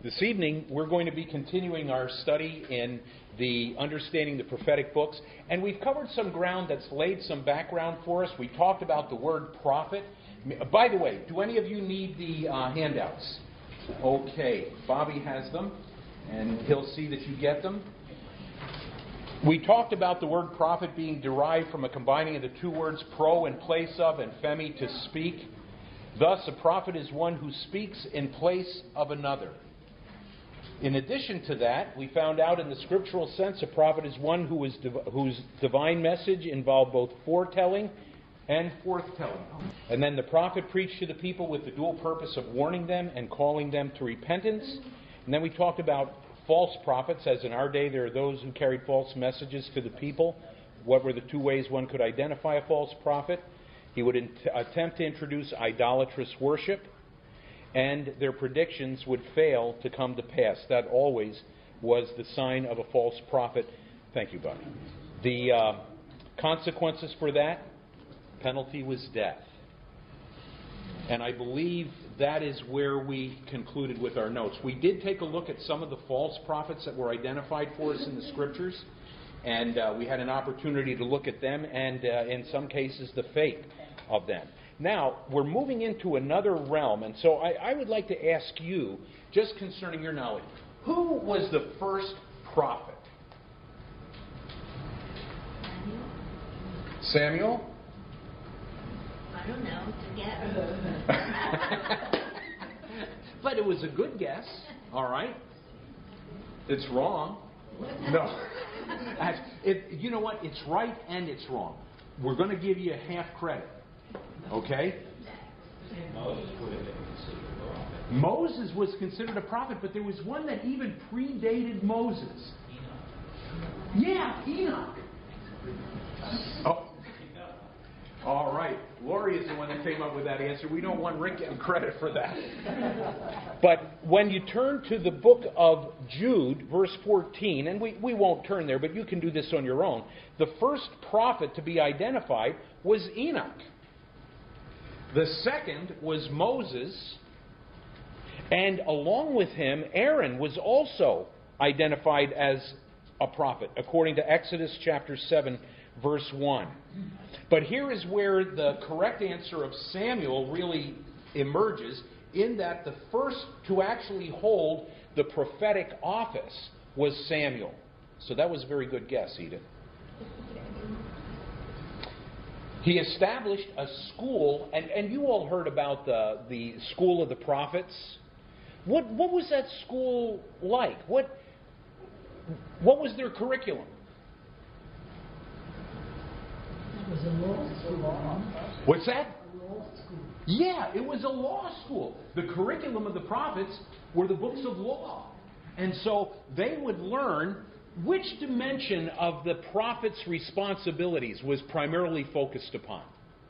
This evening, we're going to be continuing our study in the Understanding the Prophetic Books, and we've covered some ground that's laid some background for us. We talked about the word prophet. By the way, do any of you need the handouts? Okay, Bobby has them, and he'll see that you get them. We talked about the word prophet being derived from a combining of the two words pro, in place of, and femi, to speak. Thus, a prophet is one who speaks in place of another. In addition to that, we found out in the scriptural sense, a prophet is one whose divine message involved both foretelling and forthtelling. And then the prophet preached to the people with the dual purpose of warning them and calling them to repentance. And then we talked about false prophets, as in our day there are those who carried false messages to the people. What were the two ways one could identify a false prophet? He would attempt to introduce idolatrous worship, and their predictions would fail to come to pass. That always was the sign of a false prophet. Thank you, Bobby. The consequences for that, penalty was death. And I believe that is where we concluded with our notes. We did take a look at some of the false prophets that were identified for us in the Scriptures, and we had an opportunity to look at them and, in some cases, the fate of them. Now, we're moving into another realm, and so I would like to ask you, just concerning your knowledge, who was the first prophet? Samuel? I don't know. It's a guess. But it was a good guess, all right? It's wrong. No. You know what? It's right and it's wrong. We're going to give you half credit. Okay? Moses was considered a prophet, but there was one that even predated Moses. Yeah, Enoch. Oh. All right. Lori is the one that came up with that answer. We don't want Rick getting credit for that. But when you turn to the book of Jude, verse 14, and we won't turn there, but you can do this on your own. The first prophet to be identified was Enoch. The second was Moses. And along with him, Aaron was also identified as a prophet, according to Exodus chapter 7, verse 1. But here is where the correct answer of Samuel really emerges, in that the first to actually hold the prophetic office was Samuel. So that was a very good guess, Edith. He established a school, and you all heard about the school of the prophets. What was that school like? What was their curriculum? It was a law school. What's that? A law school. Yeah, it was a law school. The curriculum of the prophets were the books of law. And so they would learn which dimension of the prophet's responsibilities was primarily focused upon.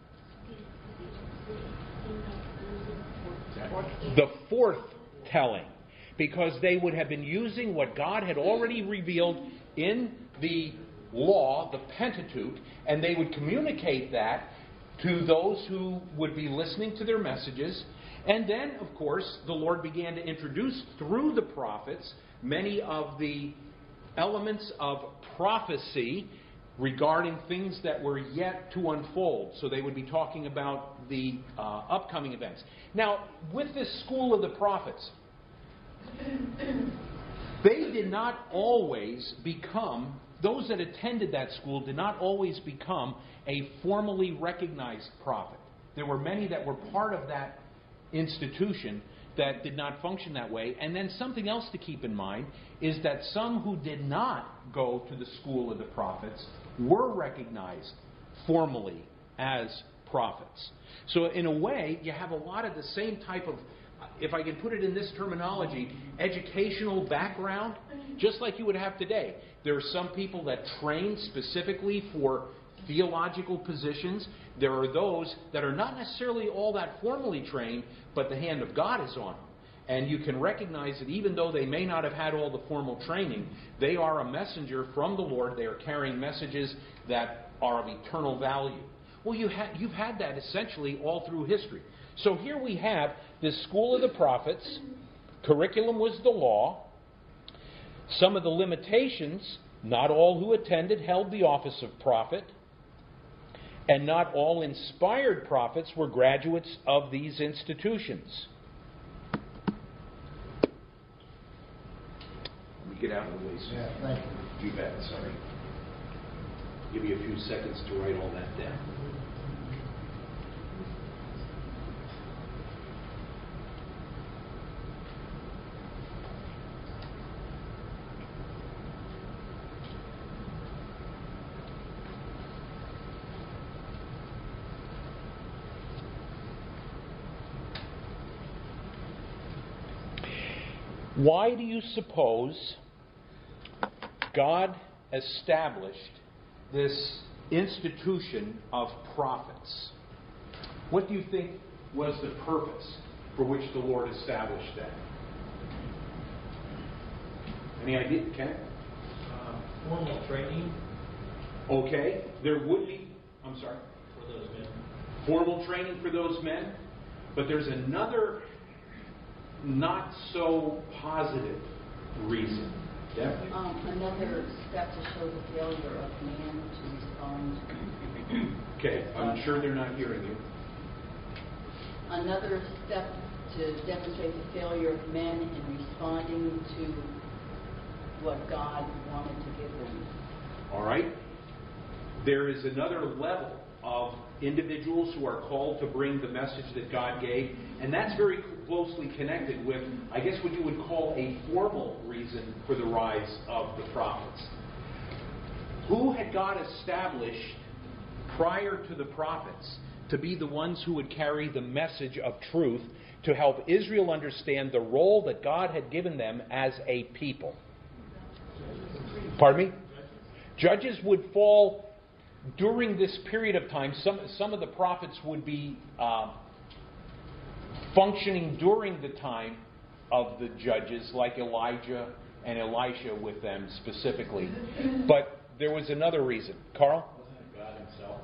The forthtelling. Because they would have been using what God had already revealed in the law, the Pentateuch, and they would communicate that to those who would be listening to their messages. And then, of course, the Lord began to introduce through the prophets many of the elements of prophecy regarding things that were yet to unfold. So they would be talking about the upcoming events. Now, with this school of the prophets, they did not always become, those that attended that school did not always become a formally recognized prophet. There were many that were part of that institution that did not function that way. And then something else to keep in mind is that some who did not go to the school of the prophets were recognized formally as prophets. So in a way, you have a lot of the same type of, if I can put it in this terminology, educational background, just like you would have today. There are some people that train specifically for theological positions. There are those that are not necessarily all that formally trained, but the hand of God is on them. And you can recognize that even though they may not have had all the formal training, they are a messenger from the Lord. They are carrying messages that are of eternal value. Well, you've had that essentially all through history. So here we have this school of the prophets Curriculum was the law. Some of the limitations, not all who attended held the office of prophet, and not all inspired prophets were graduates of these institutions. Let me get out of the way, sir. Yeah, thank you. You bet, sorry. Give me a few seconds to write all that down. Why do you suppose God established this institution of prophets? What do you think was the purpose for which the Lord established that? Any idea, Ken? Formal training Okay, there would be, I'm sorry, for those men. formal training for those men, but there's another not so positive reason. Definitely. Another step to show the failure of man to respond. Okay, I'm sure they're not hearing you. Another step to demonstrate the failure of men in responding to what God wanted to give them. All right? There is another level of individuals who are called to bring the message that God gave, and that's very closely connected with, I guess, what you would call a formal reason for the rise of the prophets. Who had God established prior to the prophets to be the ones who would carry the message of truth to help Israel understand the role that God had given them as a people? Pardon me? Judges would fall during this period of time. Some of the prophets would be functioning during the time of the judges, like Elijah and Elisha with them specifically. But there was another reason. Carl? God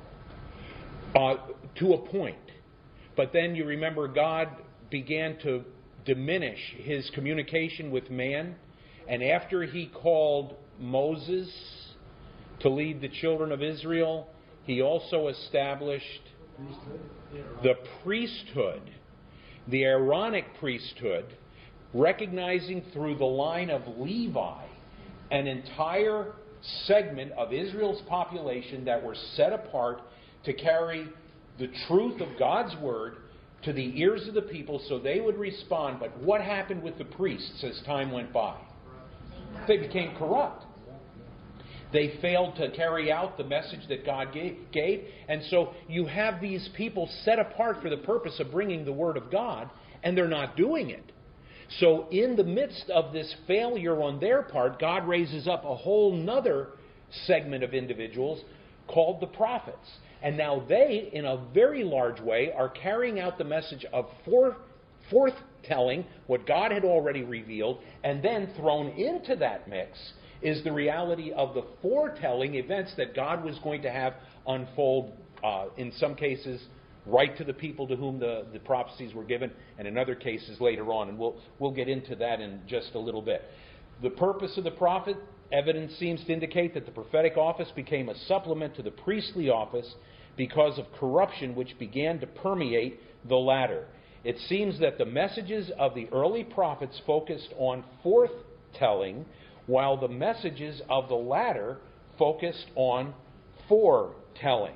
himself. To a point. But then you remember God began to diminish his communication with man. And after he called Moses to lead the children of Israel, he also established the priesthood, the Aaronic priesthood, recognizing through the line of Levi an entire segment of Israel's population that were set apart to carry the truth of God's word to the ears of the people so they would respond. But what happened with the priests as time went by? They became corrupt. They failed to carry out the message that God gave. And so you have these people set apart for the purpose of bringing the Word of God, and they're not doing it. So in the midst of this failure on their part, God raises up a whole nother segment of individuals called the prophets. And now they, in a very large way, are carrying out the message of forthtelling what God had already revealed, and then thrown into that mix is the reality of the foretelling events that God was going to have unfold, in some cases, right to the people to whom the prophecies were given, and in other cases later on. And we'll get into that in just a little bit. The purpose of the prophet, evidence seems to indicate that the prophetic office became a supplement to the priestly office because of corruption which began to permeate the latter. It seems that the messages of the early prophets focused on forthtelling, while the messages of the latter focused on foretelling.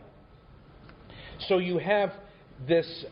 So you have this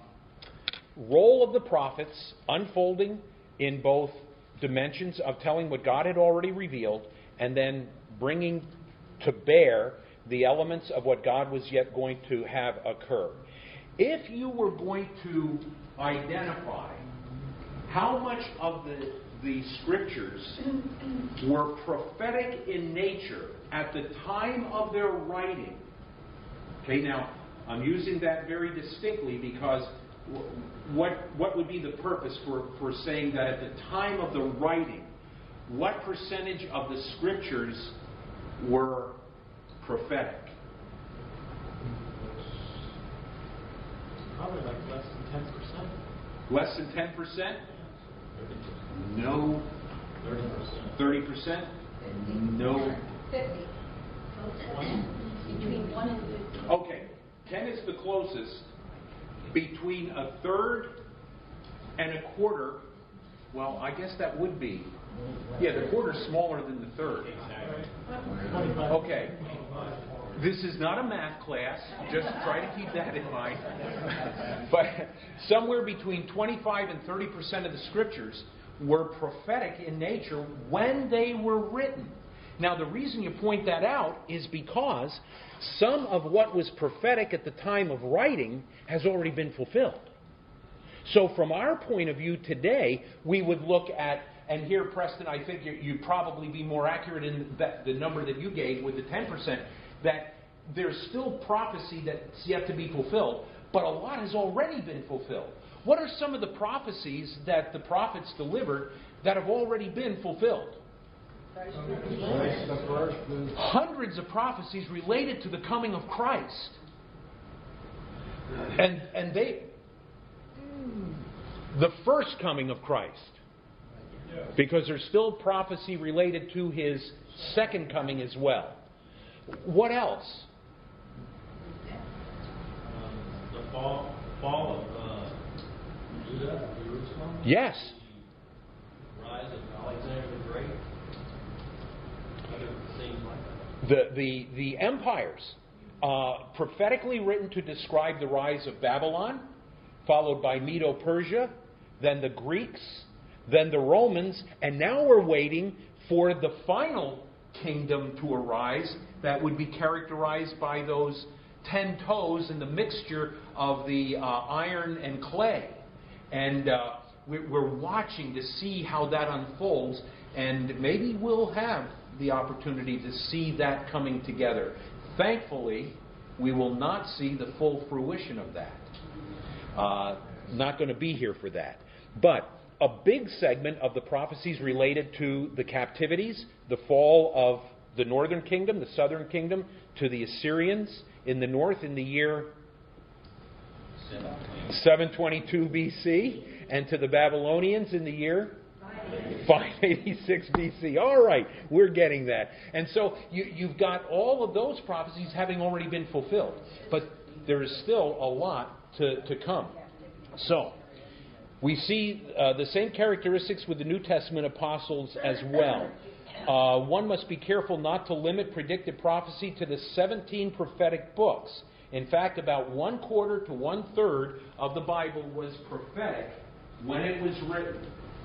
role of the prophets unfolding in both dimensions of telling what God had already revealed and then bringing to bear the elements of what God was yet going to have occur. If you were going to identify how much of the scriptures were prophetic in nature at the time of their writing. Okay, now I'm using that very distinctly because what would be the purpose for saying that at the time of the writing, what percentage of the scriptures were prophetic? Probably like less than 10%. Less than 10%? No. 30%. 30%? No. 50. Close to 10. Between 1 and 50. Okay, 10 is the closest. Between a third and a quarter, well, I guess that would be. Yeah, the quarter's smaller than the third. Okay. This is not a math class. Just try to keep that in mind. But somewhere between 25 and 30% of the scriptures were prophetic in nature when they were written. Now, the reason you point that out is because some of what was prophetic at the time of writing has already been fulfilled. So from our point of view today, we would look at, and here, Preston, I think you'd probably be more accurate in the number that you gave with the 10%, that there's still prophecy that's yet to be fulfilled, but a lot has already been fulfilled. What are some of the prophecies that the prophets delivered that have already been fulfilled? Hundreds of prophecies related to the coming of Christ. And the first coming of Christ. Because there's still prophecy related to His second coming as well. What else? The fall of Judah, Jerusalem. Yes. Rise of Alexander the Great. Other things like that. The empires, prophetically written to describe the rise of Babylon, followed by Medo-Persia, then the Greeks, then the Romans, and now we're waiting for the final kingdom to arise that would be characterized by those 10 toes and the mixture of the iron and clay. And we're watching to see how that unfolds, and maybe we'll have the opportunity to see that coming together. Thankfully, we will not see the full fruition of that. Not going to be here for that. But a big segment of the prophecies related to the captivities, the fall of the northern kingdom, the southern kingdom, to the Assyrians in the north in the year 722 BC, and to the Babylonians in the year 586 BC. All right, we're getting that. And so you've got all of those prophecies having already been fulfilled. But there is still a lot to come. So, we see the same characteristics with the New Testament apostles as well. One must be careful not to limit predictive prophecy to the 17 prophetic books. In fact, about 1/4 to 1/3 of the Bible was prophetic when it was written.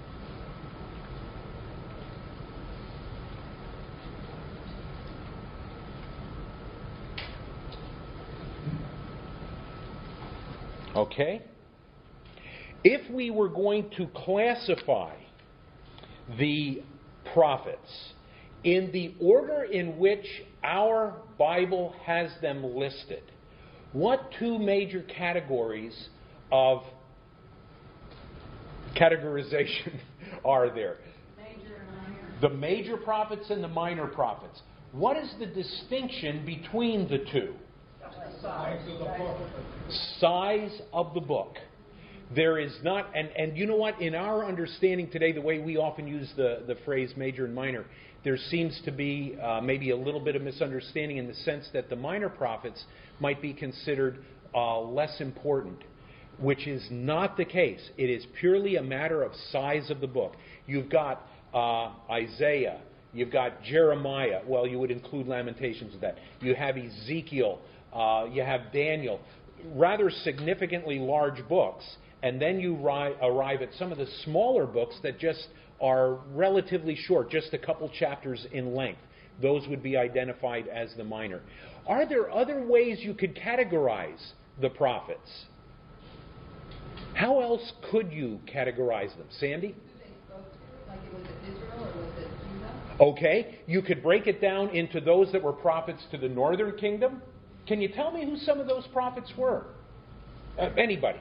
Okay? If we were going to classify the prophets in the order in which our Bible has them listed, what two major categories of categorization are there? Major and minor. The major prophets and the minor prophets. What is the distinction between the two? Size of the book. There is not, and you know what, in our understanding today, the way we often use the phrase major and minor, there seems to be maybe a little bit of misunderstanding in the sense that the minor prophets might be considered less important, which is not the case. It is purely a matter of size of the book. You've got Isaiah, you've got Jeremiah, well, you would include Lamentations of that. You have Ezekiel, you have Daniel, rather significantly large books. And then you arrive at some of the smaller books that just are relatively short, just a couple chapters in length. Those would be identified as the minor. Are there other ways you could categorize the prophets? How else could you categorize them? Sandy? Like it was it Israel or was it Judah? Okay, you could break it down into those that were prophets to the northern kingdom. Can you tell me who some of those prophets were? Anybody?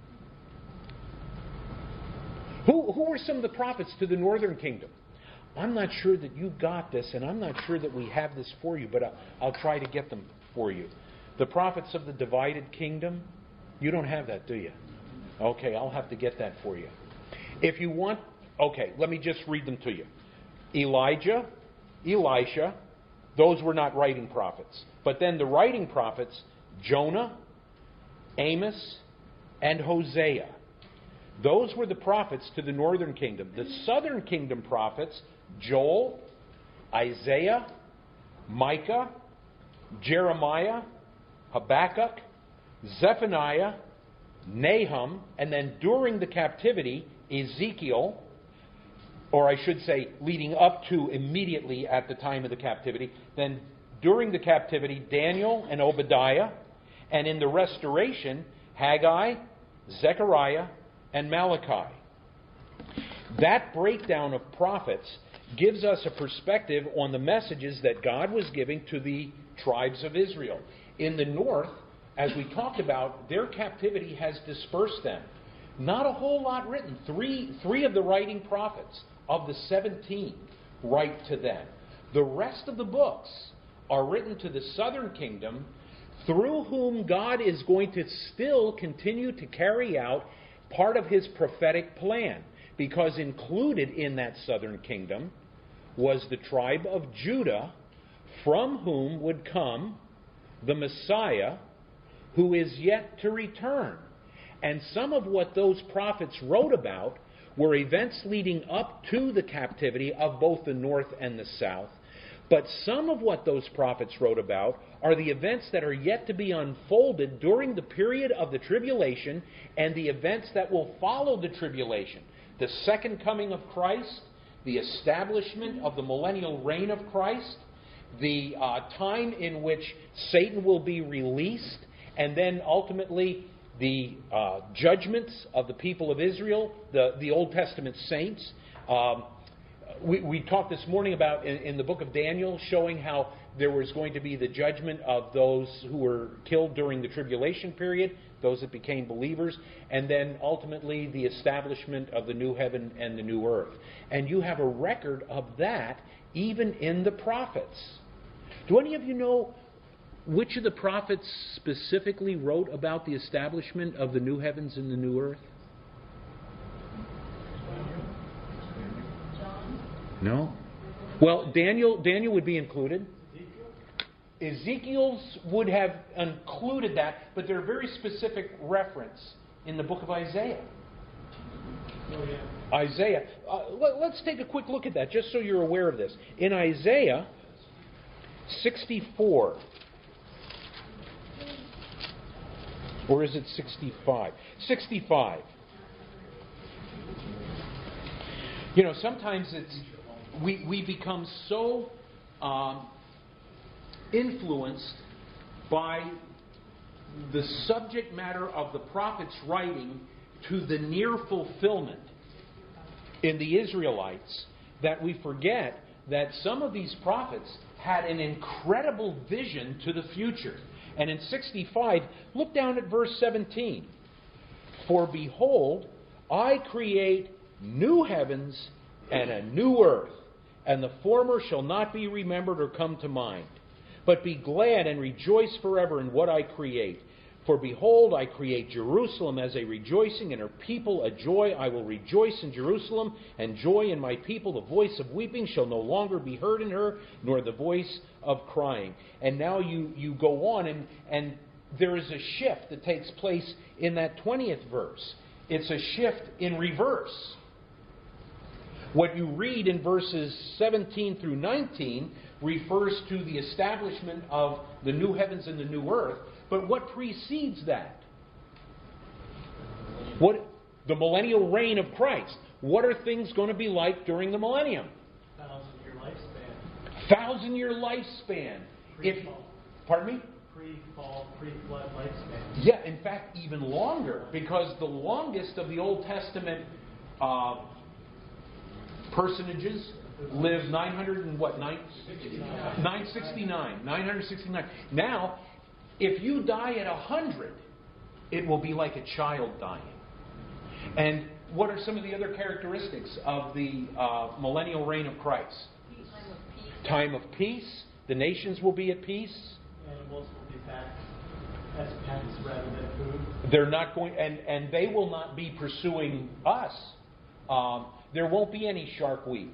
Who were some of the prophets to the northern kingdom? I'm not sure that you got this, and I'm not sure that we have this for you, but I'll try to get them for you. The prophets of the divided kingdom, you don't have that, do you? Okay, I'll have to get that for you. If you want Okay, let me just read them to you. Elijah, Elisha, those were not writing prophets. But then the writing prophets, Jonah, Amos, and Hosea. Those were the prophets to the northern kingdom. The southern kingdom prophets, Joel, Isaiah, Micah, Jeremiah, Habakkuk, Zephaniah, Nahum, and then during the captivity, Ezekiel, or I should say leading up to immediately at the time of the captivity, then during the captivity, Daniel and Obadiah, and in the restoration, Haggai, Zechariah, and Malachi. That breakdown of prophets gives us a perspective on the messages that God was giving to the tribes of Israel. In the north, as we talked about, their captivity has dispersed them. Not a whole lot written. Three of the writing prophets of the 17 write to them. The rest of the books are written to the southern kingdom, through whom God is going to still continue to carry out part of his prophetic plan. Because included in that southern kingdom was the tribe of Judah, from whom would come the Messiah, who is yet to return. And some of what those prophets wrote about were events leading up to the captivity of both the north and the south. But some of what those prophets wrote about are the events that are yet to be unfolded during the period of the tribulation and the events that will follow the tribulation. The second coming of Christ, the establishment of the millennial reign of Christ, the time in which Satan will be released, and then ultimately the judgments of the people of Israel, the Old Testament saints. We talked this morning about in the book of Daniel showing how there was going to be the judgment of those who were killed during the tribulation period, those that became believers, and then ultimately the establishment of the new heaven and the new earth. And you have a record of that even in the prophets. Do any of you know which of the prophets specifically wrote about the establishment of the new heavens and the new earth? No? Well, Daniel would be included. Ezekiel's would have included that, but there are very specific reference in the book of Isaiah. Oh, yeah. Isaiah. Let's take a quick look at that, just so you're aware of this. In Isaiah 64, or is it 65? 65. You know, sometimes we become so influenced by the subject matter of the prophet's writing to the near fulfillment in the Israelites that we forget that some of these prophets had an incredible vision to the future. And in 65, look down at verse 17. For behold, I create new heavens and a new earth, and the former shall not be remembered or come to mind. But be glad and rejoice forever in what I create. For behold, I create Jerusalem as a rejoicing, and her people a joy. I will rejoice in Jerusalem, and joy in my people. The voice of weeping shall no longer be heard in her, nor the voice of crying. And now you go on, and there is a shift that takes place in that 20th verse. It's a shift in reverse. What you read in verses 17 through 19 refers to the establishment of the new heavens and the new earth. But what precedes that? The millennial reign of Christ. What are things going to be like during the millennium? 1,000-year lifespan. 1,000-year lifespan. Pre-fall. Pardon me? Pre-fall, pre-flood lifespan. Yeah, in fact, even longer, because the longest of the Old Testament personages lived 969. Now, if you die at 100, it will be like a child dying. And what are some of the other characteristics of the millennial reign of Christ? Time of peace. The nations will be at peace. Animals will be packed as pets rather than food. They're not going, and they will not be pursuing us. There won't be any Shark Week.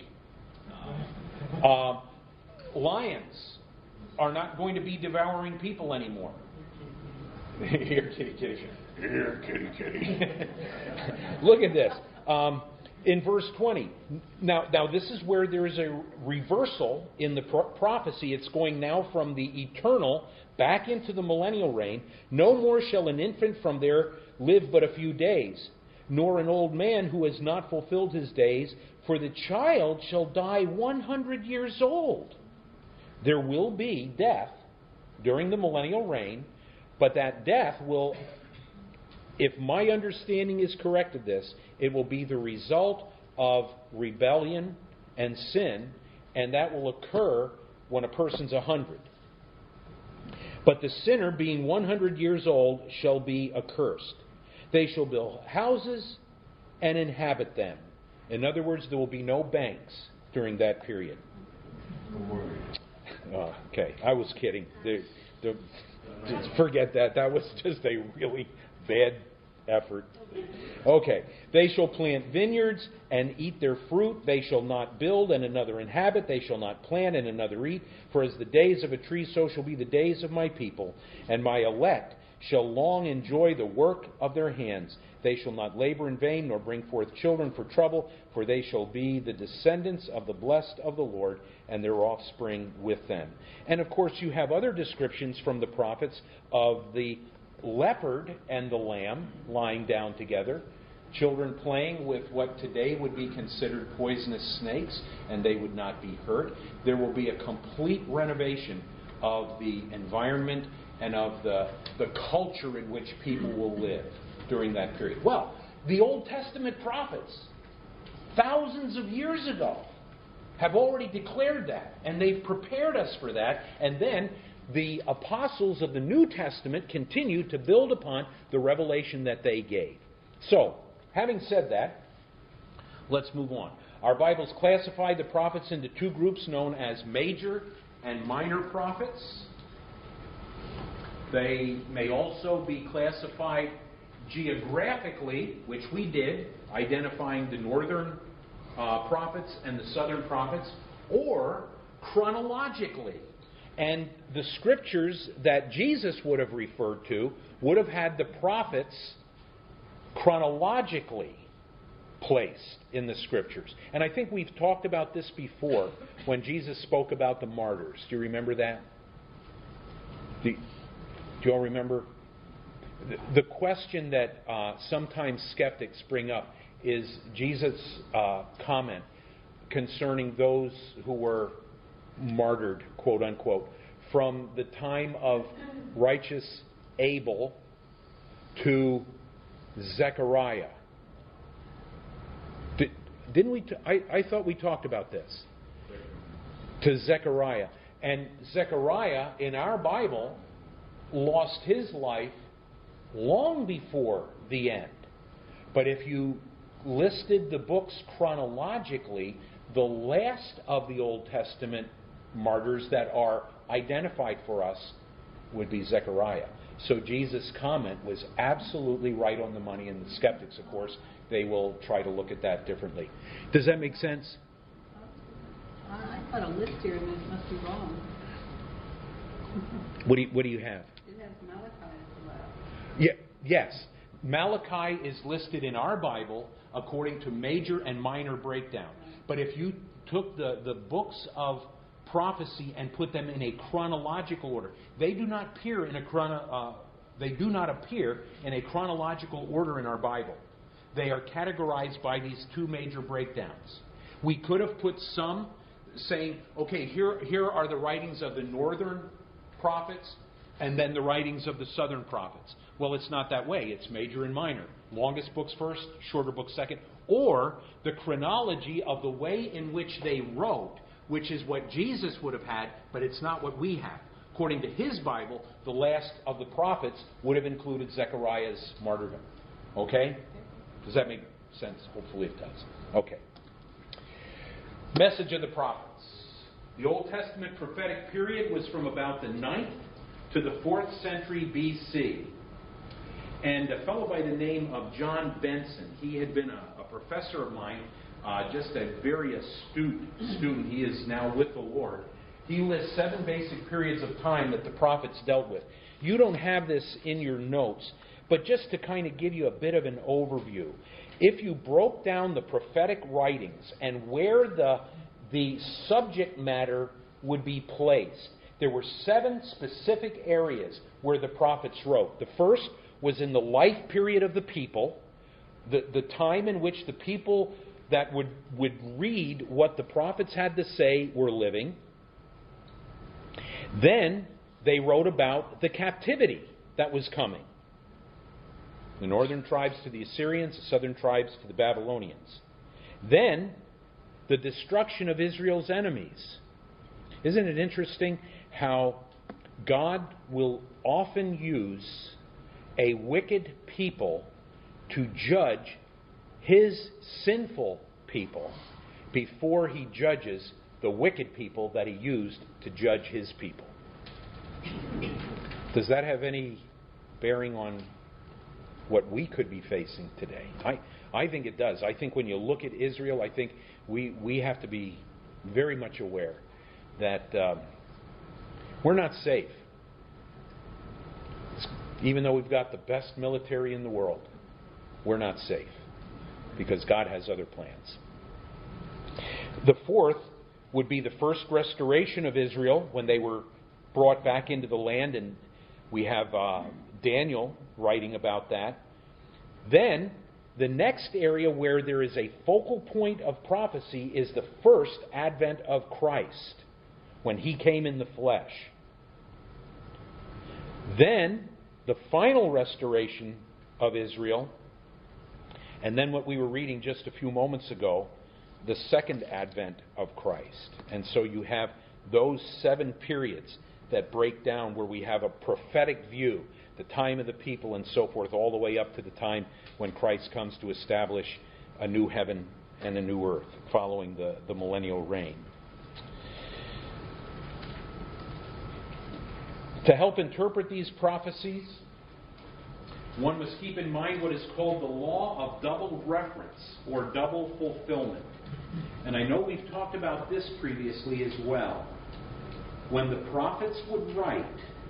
Lions are not going to be devouring people anymore. Here, kitty, kitty. Here, kitty, kitty. Look at this. In verse 20. Now this is where there is a reversal in the prophecy. It's going now from the eternal back into the millennial reign. No more shall an infant from there live but a few days, nor an old man who has not fulfilled his days, for the child shall die 100 years old. There will be death during the millennial reign, but that death will, if my understanding is correct of this, it will be the result of rebellion and sin, and that will occur when a person's 100. But the sinner, being 100 years old, shall be accursed. They shall build houses and inhabit them. In other words, there will be no banks during that period. Okay, I was kidding. Forget that. That was just a really bad effort. Okay. They shall plant vineyards and eat their fruit. They shall not build and another inhabit. They shall not plant and another eat. For as the days of a tree, so shall be the days of my people. And my elect shall long enjoy the work of their hands. They shall not labor in vain, nor bring forth children for trouble, for they shall be the descendants of the blessed of the Lord, and their offspring with them. And of course, you have other descriptions from the prophets of the leopard and the lamb lying down together, children playing with what today would be considered poisonous snakes, and they would not be hurt. There will be a complete renovation of the environment and of the culture in which people will live during that period. Well, the Old Testament prophets, thousands of years ago, have already declared that, and they've prepared us for that, and then the apostles of the New Testament continue to build upon the revelation that they gave. So, having said that, let's move on. Our Bibles classify the prophets into two groups known as major and minor prophets. They may also be classified geographically, which we did, identifying the northern prophets and the southern prophets, or chronologically. And the scriptures that Jesus would have referred to would have had the prophets chronologically placed in the scriptures. And I think we've talked about this before when Jesus spoke about the martyrs. Do you remember that? Do you all remember? The question that sometimes skeptics bring up is Jesus' comment concerning those who were martyred, quote unquote, from the time of righteous Abel to Zechariah. Didn't we? I thought we talked about this. To Zechariah. And Zechariah, in our Bible, lost his life long before the end. But if you listed the books chronologically, the last of the Old Testament martyrs that are identified for us would be Zechariah. So Jesus' comment was absolutely right on the money, and the skeptics, of course, they will try to look at that differently. Does that make sense? I got a list here, and this must be wrong. What do you have? It has Malachi as the last. Yeah, yes. Malachi is listed in our Bible according to major and minor breakdown. But if you took the books of prophecy and put them in a chronological order, they do not appear in a chronological order in our Bible. They are categorized by these two major breakdowns. We could have put some saying, okay, here are the writings of the northern prophets and then the writings of the southern prophets. Well, it's not that way. It's major and minor. Longest books first, shorter books second. Or the chronology of the way in which they wrote, which is what Jesus would have had, but it's not what we have. According to his Bible, the last of the prophets would have included Zechariah's martyrdom. Okay? Does that make sense? Hopefully it does. Okay. Message of the prophets. The Old Testament prophetic period was from about the 9th to the 4th century B.C. And a fellow by the name of John Benson, he had been a professor of mine, just a very astute student, he is now with the Lord. He lists 7 basic periods of time that the prophets dealt with. You don't have this in your notes, but just to kind of give you a bit of an overview, if you broke down the prophetic writings and where the subject matter would be placed, there were 7 specific areas where the prophets wrote. The first was in the life period of the people, the time in which the people that would read what the prophets had to say were living. Then they wrote about the captivity that was coming. The northern tribes to the Assyrians, the southern tribes to the Babylonians. Then the destruction of Israel's enemies. Isn't it interesting how God will often use a wicked people to judge His sinful people before He judges the wicked people that He used to judge His people? Does that have any bearing on what we could be facing today? I think it does. I think when you look at Israel, I think we have to be very much aware that we're not safe. Even though we've got the best military in the world, we're not safe because God has other plans. The fourth would be the first restoration of Israel when they were brought back into the land, and we have Daniel writing about that. Then, the next area where there is a focal point of prophecy is the first advent of Christ, when He came in the flesh. Then, the final restoration of Israel, and then what we were reading just a few moments ago, the second advent of Christ. And so you have those 7 periods that break down where we have a prophetic view, the time of the people and so forth, all the way up to the time when Christ comes to establish a new heaven and a new earth, following the millennial reign. To help interpret these prophecies, one must keep in mind what is called the law of double reference or double fulfillment. And I know we've talked about this previously as well. When the prophets would write,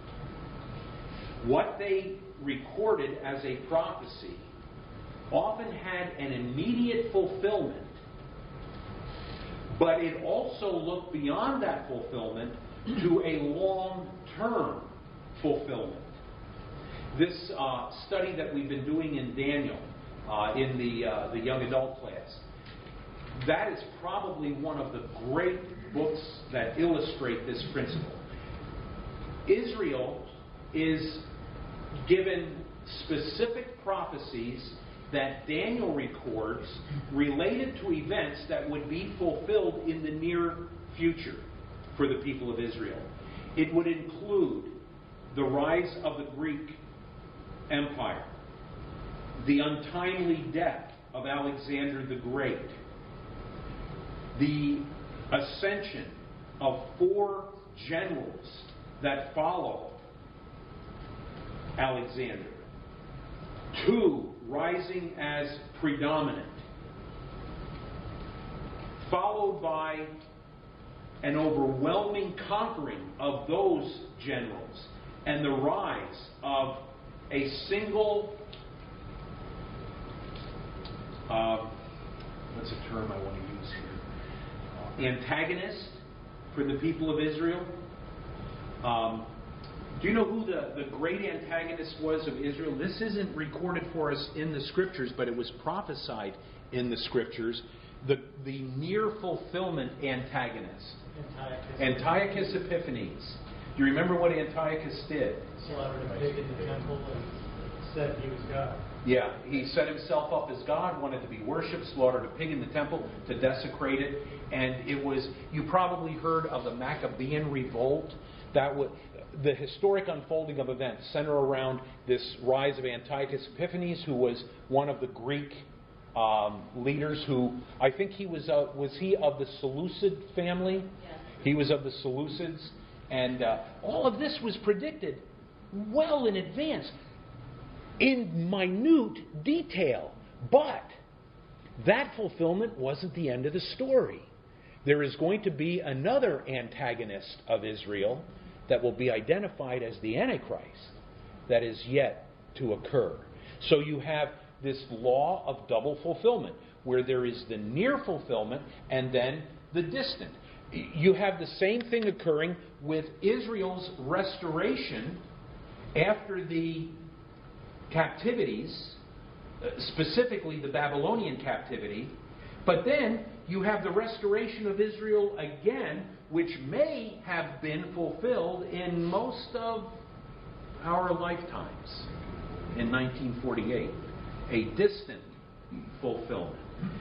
what they recorded as a prophecy often had an immediate fulfillment, but it also looked beyond that fulfillment to a long-term fulfillment. This study that we've been doing in Daniel, in the young adult class, that is probably one of the great books that illustrate this principle. Israel is given specific prophecies that Daniel records related to events that would be fulfilled in the near future for the people of Israel. It would include the rise of the Greek Empire, the untimely death of Alexander the Great, the ascension of 4 generals that follow Alexander, 2 rising as predominant, followed by an overwhelming conquering of those generals and the rise of a single what's a term I want to use here? Antagonist for the people of Israel. Do you know who the great antagonist was of Israel? This isn't recorded for us in the Scriptures, but it was prophesied in the Scriptures. The near fulfillment antagonist. Antiochus Epiphanes. Do you remember what Antiochus did? Slaughtered a pig in the temple and said he was God. Yeah, he set himself up as God, wanted to be worshipped, slaughtered a pig in the temple to desecrate it. And it was, you probably heard of the Maccabean revolt. That was the historic unfolding of events center around this rise of Antiochus Epiphanes, who was one of the Greek leaders who, I think he was he of the Seleucid family? Yes. He was of the Seleucids. And all of this was predicted well in advance, in minute detail. But that fulfillment wasn't the end of the story. There is going to be another antagonist of Israel that will be identified as the Antichrist that is yet to occur. So you have this law of double fulfillment, where there is the near fulfillment and then the distant. You have the same thing occurring with Israel's restoration after the captivities, specifically the Babylonian captivity. But then you have the restoration of Israel again, which may have been fulfilled in most of our lifetimes in 1948. A distant fulfillment.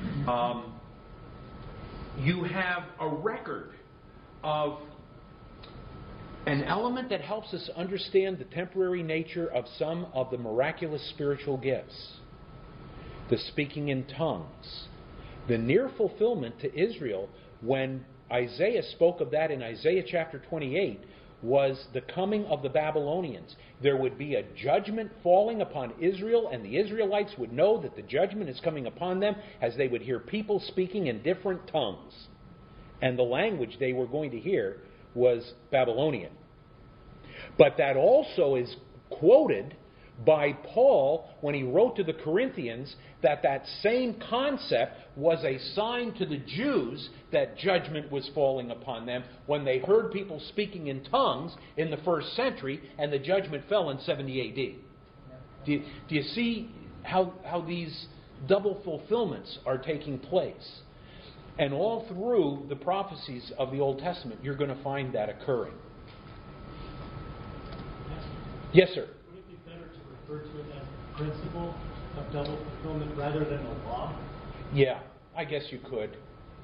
You have a record of an element that helps us understand the temporary nature of some of the miraculous spiritual gifts. The speaking in tongues. The near fulfillment to Israel, when Isaiah spoke of that in Isaiah chapter 28, was the coming of the Babylonians. There would be a judgment falling upon Israel, and the Israelites would know that the judgment is coming upon them as they would hear people speaking in different tongues. And the language they were going to hear was Babylonian. But that also is quoted by Paul when he wrote to the Corinthians that same concept was a sign to the Jews that judgment was falling upon them when they heard people speaking in tongues in the first century, and the judgment fell in 70 AD. Do you see how these double fulfillments are taking place? And all through the prophecies of the Old Testament, you're going to find that occurring. Yes, sir. Would it be better to refer to it as a principle of double fulfillment rather than a law? Yeah, I guess you could.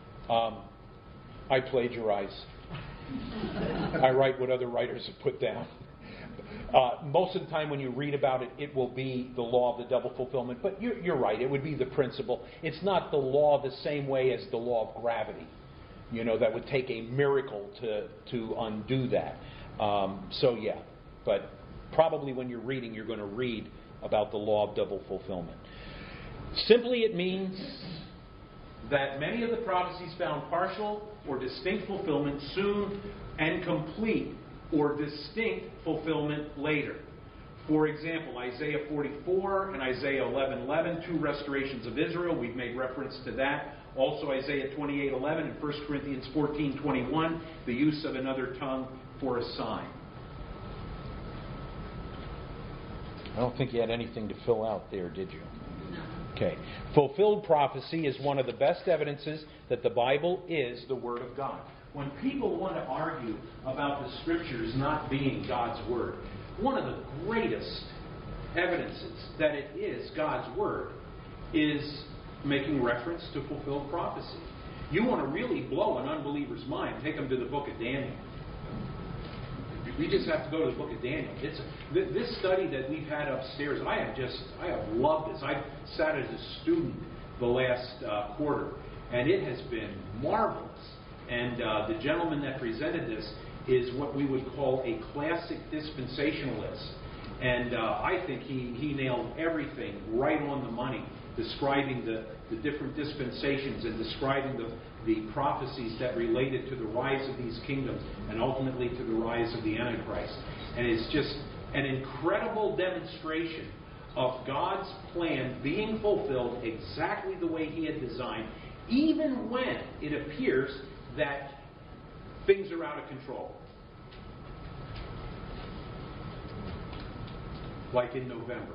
I plagiarize. I write what other writers have put down. Most of the time when you read about it, it will be the law of the double fulfillment. But you're right, it would be the principle. It's not the law the same way as the law of gravity. You know, that would take a miracle to undo that. So yeah, but probably when you're reading, you're going to read about the law of double fulfillment. Simply it means that many of the prophecies found partial or distinct fulfillment soon and complete or distinct fulfillment later. For example, Isaiah 44 and Isaiah 11:11, two restorations of Israel. We've made reference to that. Also Isaiah 28:11 and 1 Corinthians 14:21, the use of another tongue for a sign. I don't think you had anything to fill out there, did you? No. Okay. Fulfilled prophecy is one of the best evidences that the Bible is the Word of God. When people want to argue about the Scriptures not being God's Word, one of the greatest evidences that it is God's Word is making reference to fulfilled prophecy. You want to really blow an unbeliever's mind, take them to the book of Daniel. We just have to go to the book of Daniel. This study that we've had upstairs, I have loved this. I sat as a student the last quarter, and it has been marvelous. And the gentleman that presented this is what we would call a classic dispensationalist. And I think he nailed everything right on the money, describing the different dispensations and describing the prophecies that related to the rise of these kingdoms and ultimately to the rise of the Antichrist. And it's just an incredible demonstration of God's plan being fulfilled exactly the way He had designed, even when it appears that things are out of control. Like in November.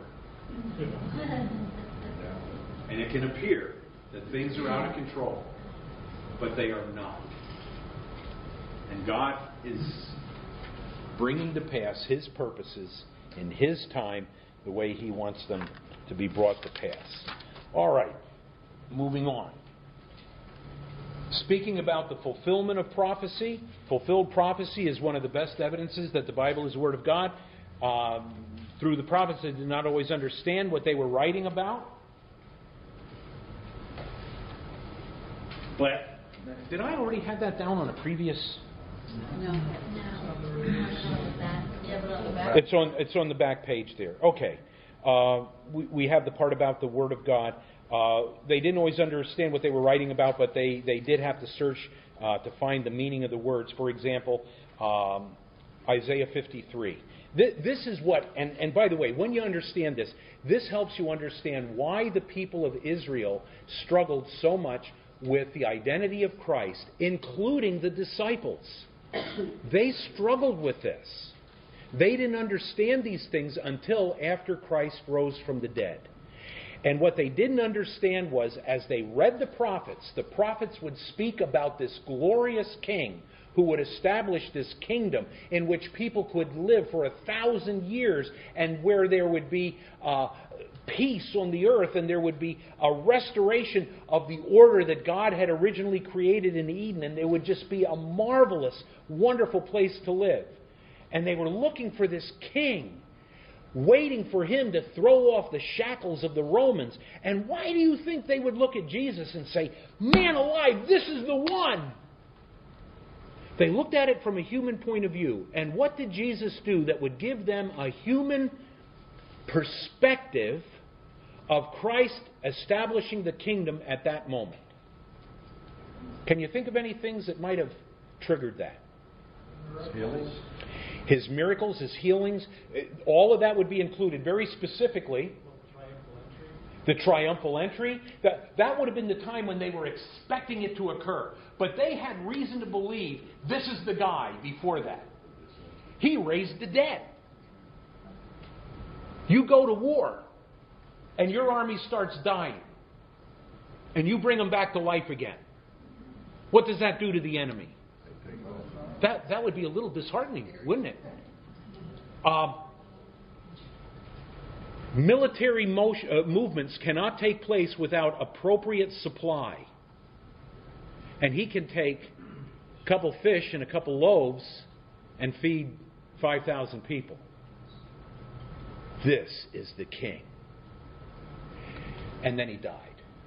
And it can appear that things are out of control, but they are not. And God is bringing to pass His purposes in His time the way He wants them to be brought to pass. All right, moving on. Speaking about the fulfillment of prophecy, fulfilled prophecy is one of the best evidences that the Bible is the Word of God. Through the prophets, they did not always understand what they were writing about. But did I already have that down on a previous? No. Yeah, but on the back. It's on the back page there. Okay. We have the part about the Word of God. They didn't always understand what they were writing about, but they did have to search to find the meaning of the words. For example, Isaiah 53. This is what, and by the way, when you understand this, this helps you understand why the people of Israel struggled so much with the identity of Christ, including the disciples. They struggled with this. They didn't understand these things until after Christ rose from the dead. And what they didn't understand was, as they read the prophets would speak about this glorious king who would establish this kingdom in which people could live for 1,000 years, and where there would be peace on the earth, and there would be a restoration of the order that God had originally created in Eden, and there would just be a marvelous, wonderful place to live. And they were looking for this king, waiting for him to throw off the shackles of the Romans. And why do you think they would look at Jesus and say, "Man alive, this is the one"? They looked at it from a human point of view. And what did Jesus do that would give them a human perspective of Christ establishing the kingdom at that moment? Can you think of any things that might have triggered that? Healings? His miracles, his healings, all of that would be included. Very specifically, the triumphal entry. That would have been the time when they were expecting it to occur. But they had reason to believe this is the guy before that. He raised the dead. You go to war, and your army starts dying, and you bring them back to life again. What does that do to the enemy? That would be a little disheartening, wouldn't it? Military movements cannot take place without appropriate supply. And he can take a couple fish and a couple loaves and feed 5,000 people. This is the king. And then he died.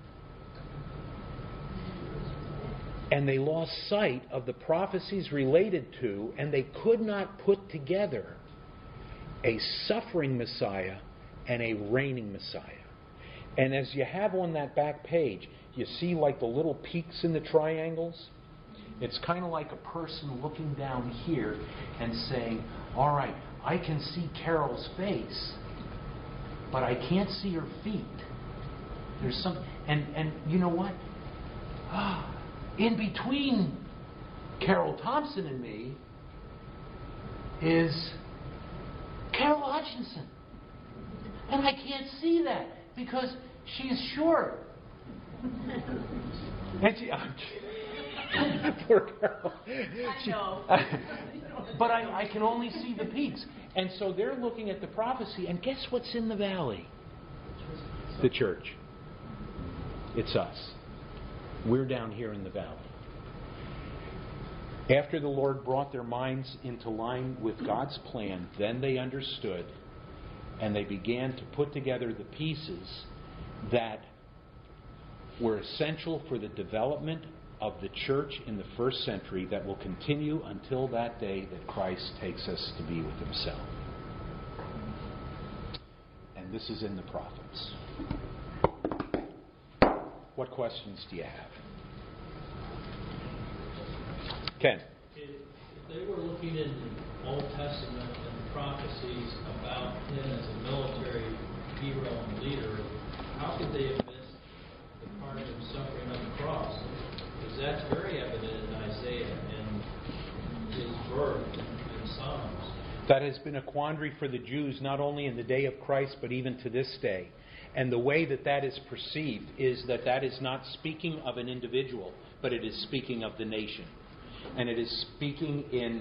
And they lost sight of the prophecies related to, and they could not put together a suffering Messiah and a reigning Messiah. And as you have on that back page, you see like the little peaks in the triangles. It's kind of like a person looking down here and saying, all right, I can see Carol's face, but I can't see her feet. There's some, and you know what? In between Carol Thompson and me is Carol Hutchinson. And I can't see that because she's short. And she, poor Carol. I know. But I can only see the peaks. And so they're looking at the prophecy, and guess what's in the valley? The church. It's us. We're down here in the valley. After the Lord brought their minds into line with God's plan, then they understood, and they began to put together the pieces that were essential for the development of the church in the first century that will continue until that day that Christ takes us to be with Himself. And this is in the prophets. What questions do you have? Ken? If they were looking in the Old Testament and prophecies about him as a military hero and leader, how could they have missed the part of him suffering on the cross? Because that's very evident in Isaiah and his birth in Psalms. That has been a quandary for the Jews, not only in the day of Christ, but even to this day. And the way that that is perceived is that that is not speaking of an individual, but it is speaking of the nation. And it is speaking in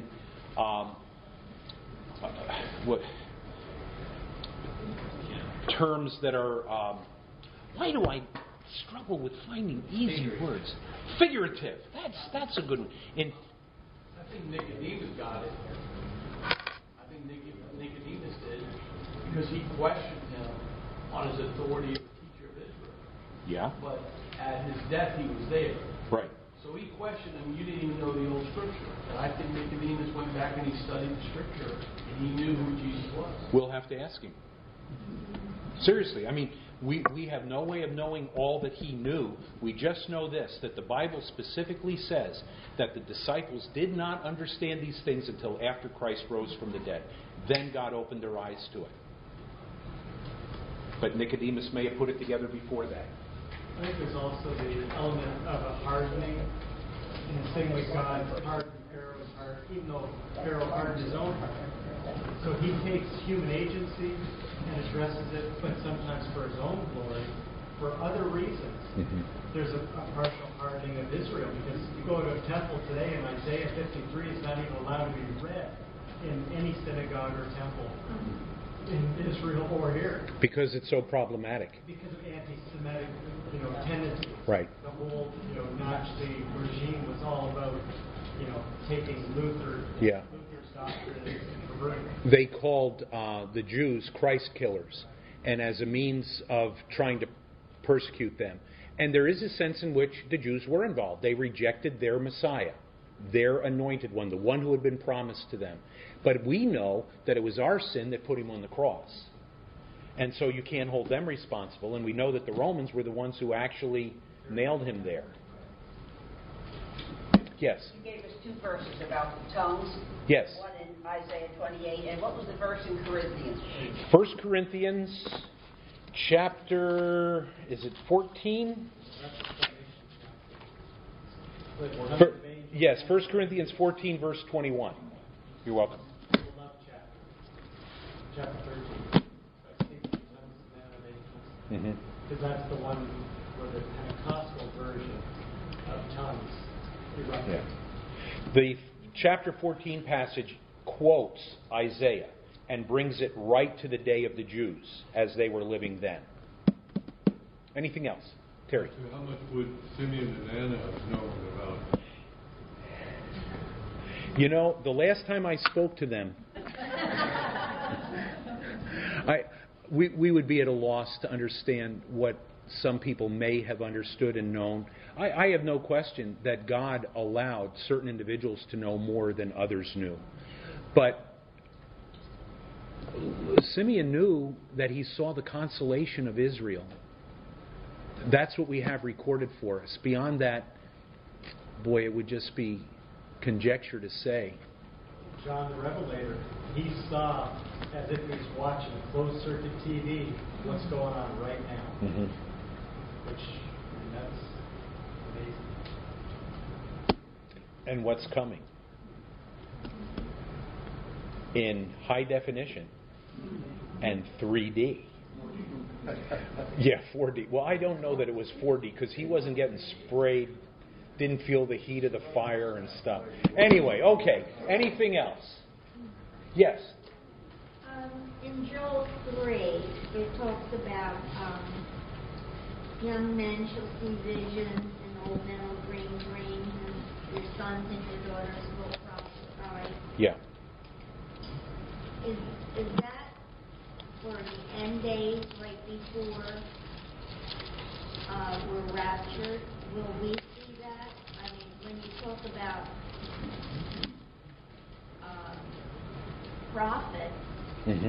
terms that are... why do I struggle with finding easy words? Figurative. That's a good one. I think Nicodemus got it. I think Nicodemus did, because he questioned him on his authority as a teacher of Israel. Yeah. But at his death, he was there. Right. So he questioned him, you didn't even know the old Scripture. And I think Nicodemus went back and he studied the Scripture, and he knew who Jesus was. We'll have to ask him. Seriously, I mean, we have no way of knowing all that he knew. We just know this, that the Bible specifically says that the disciples did not understand these things until after Christ rose from the dead. Then God opened their eyes to it. But Nicodemus may have put it together before that. I think there's also the element of a hardening. In the same way God hardened Pharaoh's heart, even though Pharaoh hardened his own heart. So he takes human agency and addresses it, but sometimes for his own glory, for other reasons. Mm-hmm. There's a partial hardening of Israel, because you go to a temple today, and Isaiah 53 is not even allowed to be read in any synagogue or temple in Israel or here. Because it's so problematic. Because of anti-Semitic, tendencies. Right. The whole, Nazi regime was all about, taking Luther's doctrine and perverting it. They called the Jews Christ killers, and as a means of trying to persecute them. And there is a sense in which the Jews were involved. They rejected their Messiah, their anointed one, the one who had been promised to them. But we know that it was our sin that put him on the cross. And so you can't hold them responsible. And we know that the Romans were the ones who actually nailed him there. Yes? You gave us 2 verses about the tongues. Yes. One in Isaiah 28, and what was the verse in Corinthians? 1 Corinthians chapter, is it 14? Yes, 1 Corinthians 14, verse 21. You're welcome. Chapter 13. Mm-hmm. Because that's the one where the Pentecostal version of tongues erupted. Yeah. The chapter 14 passage quotes Isaiah and brings it right to the day of the Jews as they were living then. Anything else? Terry. So how much would Simeon and Anna have known about? The last time I spoke to them, we would be at a loss to understand what some people may have understood and known. I have no question that God allowed certain individuals to know more than others knew. But Simeon knew that he saw the consolation of Israel. That's what we have recorded for us. Beyond that, boy, it would just be conjecture to say. John the Revelator, he saw, as if he was watching a closed-circuit TV, what's going on right now. Mm-hmm. Which, that's amazing. And what's coming? In high definition and 3D. Yeah, 4D. Well, I don't know that it was 4D because he wasn't getting sprayed, didn't feel the heat of the fire and stuff. Anyway, okay. Anything else? Yes. In Joel 3, it talks about young men shall see visions, and old men will dream dreams, and your sons and your daughters will prophesy. Yeah. Is that for the end days, right before we're raptured? Will we see that? I mean, when you talk about prophets. Mm-hmm.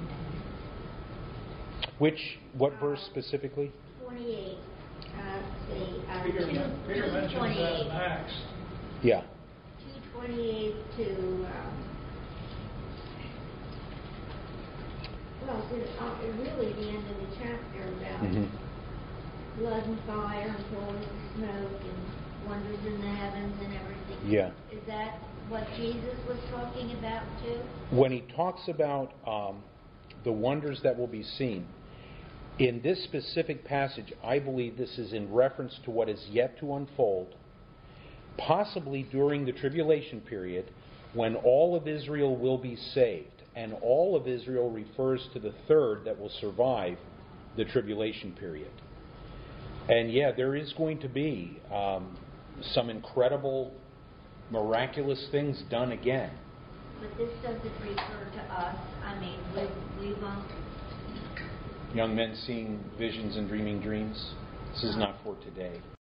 What verse specifically? 28. Peter mentions that in Acts. Yeah. 2:28 to. Really the end of the chapter about blood and fire and pillars of smoke and wonders in the heavens and everything. Yeah. Is that what Jesus was talking about too? When he talks about the wonders that will be seen, in this specific passage, I believe this is in reference to what is yet to unfold, possibly during the tribulation period, when all of Israel will be saved. And all of Israel refers to the third that will survive the tribulation period. And yeah, there is going to be some incredible, miraculous things done again. But this doesn't refer to us. I mean, we won't. Young men seeing visions and dreaming dreams. This is not for today.